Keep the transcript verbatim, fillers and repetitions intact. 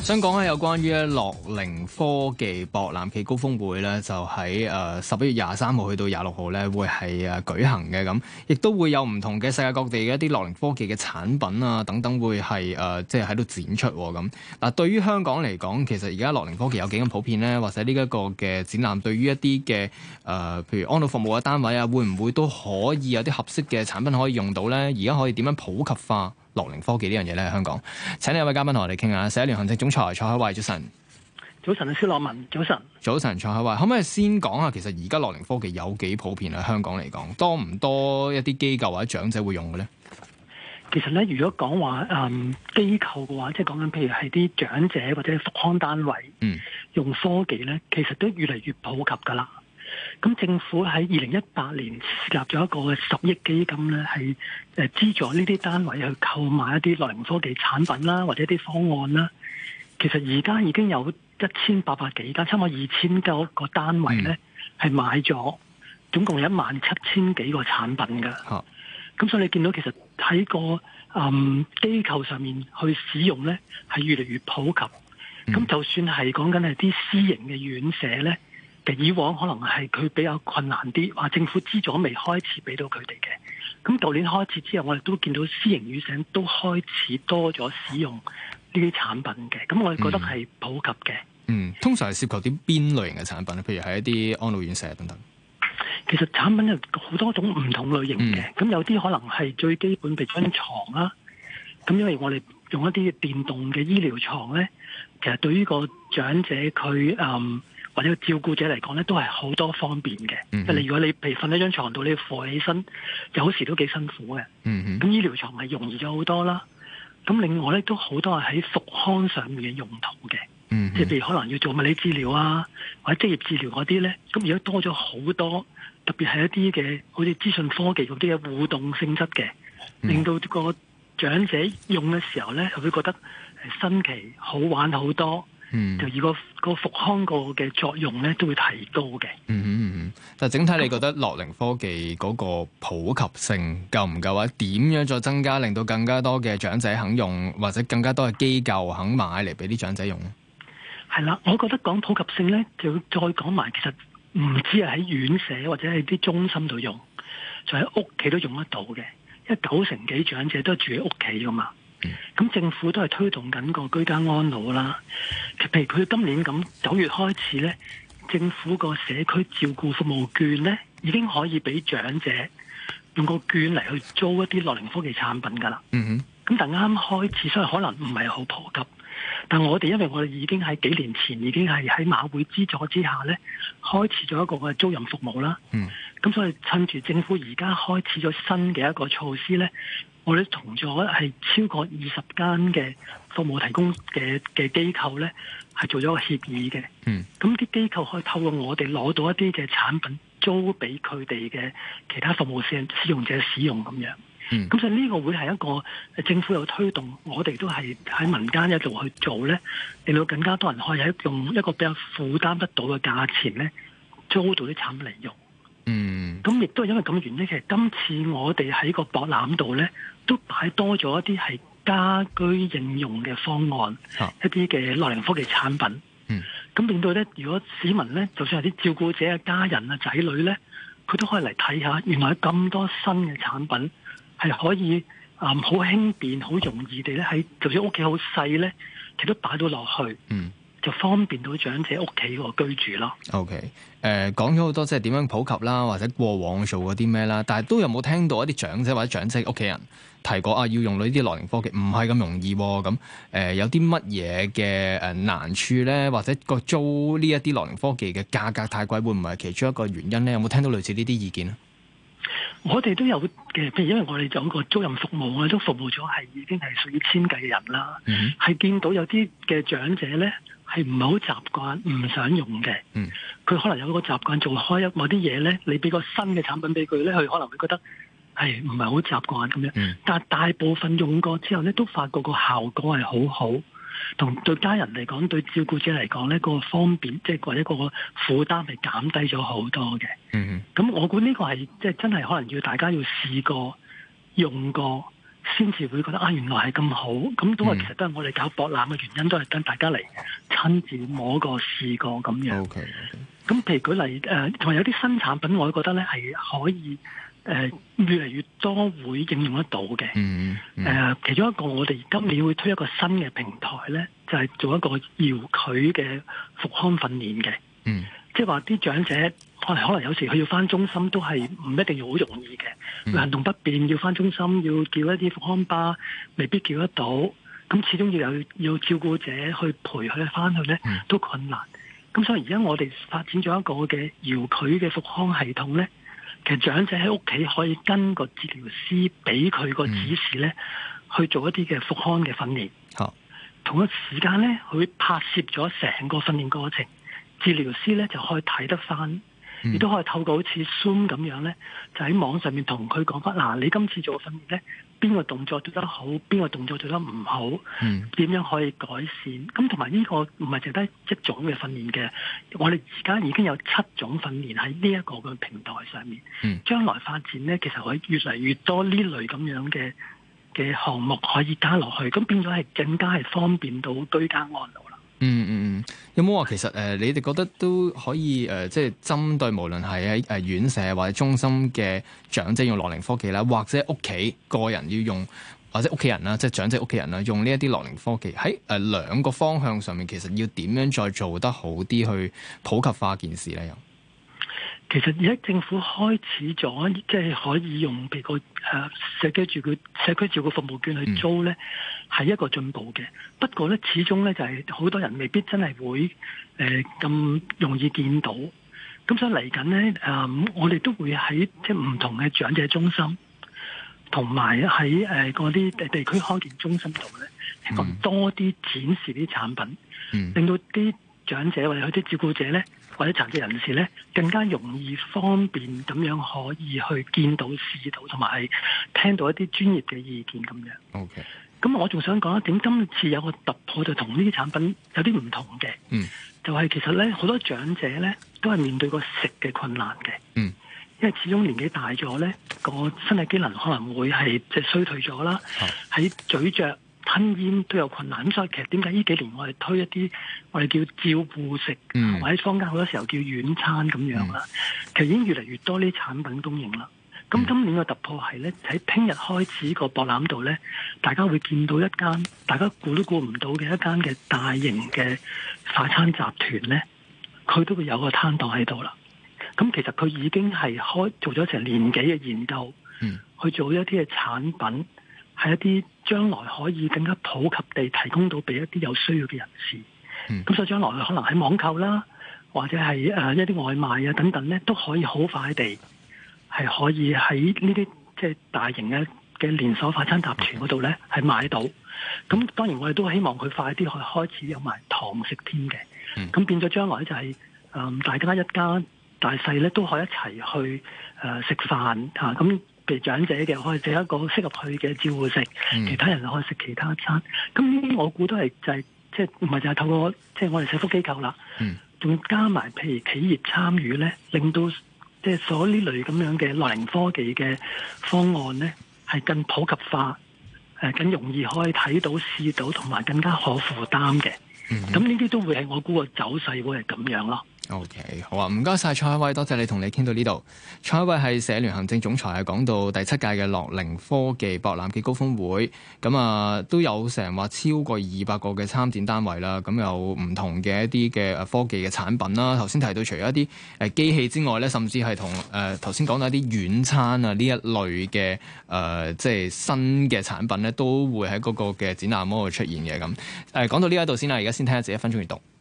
想講咧有關於咧樂齡科技博覽暨高峰會咧，就喺誒十一月廿三號去到廿六號咧，會係誒舉行嘅咁，亦都會有唔同嘅世界各地嘅一啲樂齡科技嘅產品啊等等會係誒即係喺度展出咁。嗱，對於香港嚟講，其實而家樂齡科技有幾咁普遍咧，或者呢一個嘅展覽對於一啲嘅誒，譬如安老服務嘅單位啊，會唔會都可以有啲合適嘅產品可以用到咧？而家可以點樣普及化樂齡科技呢樣嘢咧？喺香港，請呢一位嘉賓同我哋傾下，社聯行政總裁蔡海偉，早晨。 早晨啊，蕭樂文，早晨。 早晨，蔡海偉，可唔可以先講下，其實而家樂齡科技有幾普遍喺香港嚟講，多唔多一啲機構或者長者會用嘅咧？ 其實咧，如果講話誒機構嘅話，即係講緊譬如係啲長者或者復康單位，嗯，用科技咧，其實都越嚟越普及噶啦。咁政府喺二零一八年設立咗一個十億基金咧，係誒資助呢啲單位去購買一啲樂齡科技產品啦，或者啲方案啦。其實而家已經有一千八百幾間，差唔多二千多個單位咧，係、嗯、買咗，總共有一萬七千幾個產品㗎。咁、啊、所以你見到其實喺個嗯機構上面去使用咧，係越嚟越普及。咁、嗯、就算係講緊係啲私營嘅院舍咧。以往可能係佢比較困難啲，話政府資助未開始俾到佢哋嘅。咁舊年開始之後，我哋都見到私營院舍都開始多咗使用呢啲產品嘅。咁我哋覺得係普及嘅。 嗯，通常係涉及啲邊類型嘅產品咧？譬如係一啲安老院舍等等。 其實產品有好多種唔同類型嘅。咁、嗯、有啲可能係最基本，譬如張床啦。咁因為我哋用一啲電動嘅醫療床咧，其實對於個長者佢嗯。或者照顧者嚟講咧，都係好多方便嘅。即係你如果你譬如瞓喺張床度，你扶起身，有時都幾辛苦嘅。咁、嗯、醫療床係容易咗好多啦。咁另外咧，都好多係喺復康上面嘅用途嘅。嗯、即係譬如可能要做物理治療啊，或者職業治療嗰啲咧，咁而家多咗好多，特別係一啲嘅好似資訊科技嗰啲嘅互動性質嘅，令到個長者用嘅時候咧，就會覺得新奇好玩好多。嗯，就如果個復康個嘅作用咧，都會提高嘅。 嗯嗯嗯，但係整體你覺得樂齡科技嗰個普及性夠唔夠啊？點樣再增加，令到更加多嘅長者肯用，或者更加多嘅機構肯買嚟俾啲長者用咧？ 係啦，我覺得講普及性咧，就要再講埋，其實唔止係喺院舍或者係啲中心度用，就喺屋企都用得到嘅。因為九成幾長者都係住喺屋企噶嘛。咁政府都係推動緊個居家安老啦。譬如佢今年咁九月開始咧，政府個社區照顧服務券咧，已經可以俾長者用個券嚟去租一啲樂齡科技產品噶啦。嗯哼。咁但啱啱開始，所以可能唔係好普及。但我哋因為我哋已經喺幾年前已經係喺馬會資助之下咧，開始咗一個嘅租賃服務啦。嗯。咁所以趁住政府而家開始咗新嘅一個措施咧。我哋同咗係超過二十間嘅服務提供嘅嘅機構咧，係做咗個協議嘅。嗯，咁啲機構可以透過我哋攞到一啲嘅產品租俾佢哋嘅其他服務使使用者使用咁樣。嗯，咁所以呢個會係一個政府有推動，我哋都係喺民間一度去做咧，令到更加多人可以喺用一個比較負擔得到嘅價錢咧，租到啲產品嚟用。嗯，咁亦都係因為咁嘅原因，其實今次我哋喺個博覽度咧，都擺多咗一啲係家居應用嘅方案，啊、一啲嘅樂齡科技產品。嗯，咁令到咧，如果市民咧，就算係啲照顧者嘅家人啊、仔女咧，佢都可以嚟睇下，原來有咁多新嘅產品係可以啊，好、嗯、輕便、好容易地咧，喺就算屋企好細咧，其實都擺到落去。嗯。就方便到長者屋企個居住咯。OK， 誒講咗好多即係點樣普及啦，或者過往做過啲咩啦，但係都有冇聽到一啲長者或者長者屋企人提過啊？要用到呢啲樂齡科技唔係咁容易喎。咁、呃、誒有啲乜嘢嘅誒難處咧？或者個租呢一啲樂齡科技嘅價格太貴，會唔會係其中一個原因咧？有冇聽到類似呢啲意見咧？ 我哋都有嘅，譬如因為我哋做個租賃服務，我哋都服務咗係已經係屬於千計嘅人啦。嗯，係見到有啲嘅長者咧。係唔係好習慣，唔想用嘅。嗯，佢可能有個習慣做開一某啲嘢咧，你俾個新嘅產品俾佢咧，佢可能會覺得係唔係好習慣咁樣。嗯，但係大部分用過之後咧，都發覺個效果係好好，同對家人嚟講，對照顧者嚟講咧，個方便即係或者個負擔係減低咗好多嘅。嗯，咁我估呢個係即係真係可能要大家要試過用過。 先至會覺得啊，原來係咁好。咁都係其實都係我哋搞博覽嘅原因，都係等大家嚟親自摸過試過咁樣。 OK， 咁譬如舉例誒，同、呃、埋有啲新產品，我覺得咧係可以誒、呃、越嚟越多會應用得到嘅。 嗯嗯。 誒、呃，其中一個我哋今年會推一個新嘅平台咧，就係、是、做一個遙距嘅復康訓練嘅。嗯。即係話啲長者可能可能有時佢要翻中心都係唔一定要好容易嘅，佢、嗯、行動不便要翻中心要叫一啲復康巴，未必叫得到。咁始終要有要照顧者去陪佢翻去咧，都困難。咁、嗯、所以而家我哋發展咗一個嘅遙距嘅復康系統咧，其實長者喺屋企可以跟個治療師俾佢個指示咧，嗯、去做一啲嘅復康嘅訓練。好，同一時間咧，佢會拍攝咗成個訓練過程。治療師咧就可以睇得翻，亦都可以透過好似 Zoom 咁樣咧，就喺網上面同佢講翻嗱，你今次做嘅訓練咧，邊個動作做得好，邊個動作做得唔好，點、嗯、樣可以改善？咁同埋呢個唔係淨得一種嘅訓練嘅，我哋而家已經有七種訓練喺呢一個嘅平台上面。嗯、將來發展咧，其實可以越嚟越多呢類咁樣嘅嘅項目可以加落去，咁變咗係更加係方便到居家安老啦。嗯嗯嗯，有冇話其實誒、呃，你哋覺得都可以誒、呃，即係針對無論係喺誒院舍或者中心嘅長者用樂齡科技啦，或者屋企個人要用，或者屋企人啦，即係長者屋企人啦，用呢一啲樂齡科技喺誒兩個方向上面，其實要點樣再做得好啲去普及化件事咧？又？ 其實而家政府開始咗，即係可以用譬如個誒社區照顧社區照顧服務券去租咧，係、嗯、一個進步嘅。不過咧，始終咧就係好多人未必真係會誒咁、呃、容易見到。咁所以嚟緊咧誒，我哋都會喺即係唔同嘅長者中心，同埋喺誒嗰啲地地區康健中心度咧，希望多啲展示啲產品，嗯、令到啲長者或者啲照顧者咧，或者殘疾人士咧，更加容易方便咁樣可以去見到、試到，同埋係聽到一啲專業嘅意見咁樣。OK。咁我仲想講一點，今次有個突破就同呢啲產品有啲唔同嘅。嗯。就係其實咧，好多長者咧都係面對個食嘅困難嘅。嗯。因為始終年紀大咗咧，個身體機能可能會係即係衰退咗啦。喺、哦、咀嚼、吞咽都有困難，咁所以其實點解呢幾年我哋推一啲我哋叫照顧食，嗯、或者坊間好多時候叫軟餐咁樣啦，嗯、其實已經越嚟越多呢啲產品供應啦。咁、嗯、今年嘅突破係咧，喺聽日開始個博覽度咧，大家會見到一間大家估都估唔到嘅一間嘅大型嘅快餐集團咧，佢都會有個攤檔喺度啦。咁其實佢已經係開做咗成年幾嘅研究，嗯、去做一啲嘅產品，係一啲將來可以更加普及地提供到俾一啲有需要嘅人士。咁、嗯、所以將來可能喺網購啦，或者係誒一啲外賣啊等等咧，都可以好快地係可以喺呢啲即係大型嘅嘅連鎖快餐集團嗰度咧係買到。咁當然我哋都希望佢快啲去開始有埋堂食添嘅。咁、嗯、變咗將來就係、是、誒、呃、大家一家大細咧都可以一齊去誒食飯嚇，咁譬如長者嘅可以食一個適合佢嘅照顧食，嗯、其他人可以食其他餐。咁呢啲我估都係就係即係唔係就係透過即係我哋社福機構啦，仲、嗯、加埋譬如企業參與咧，令到即係所呢類咁樣嘅樂齡科技嘅方案咧係更普及化，誒更容易可以睇到試到，同埋更加可負擔嘅。咁呢啲都會係我估個走勢會係咁樣咯。 OK， 好啊，唔該晒蔡海偉，多謝你同你傾到呢度。蔡海偉係社聯行政總裁，係講到第七屆嘅樂齡科技博覽暨高峰會，咁啊都有成話超過二百個嘅參展單位啦，咁有唔同嘅一啲嘅科技嘅產品啦。頭先提到除咗一啲誒機器之外咧，甚至係同誒頭先講到一啲軟餐啊呢一類嘅誒、呃、即係新嘅產品咧，都會喺嗰個嘅展覽嗰度出現嘅咁。誒講到呢一度先啦，而家先聽一節一分鐘閱讀。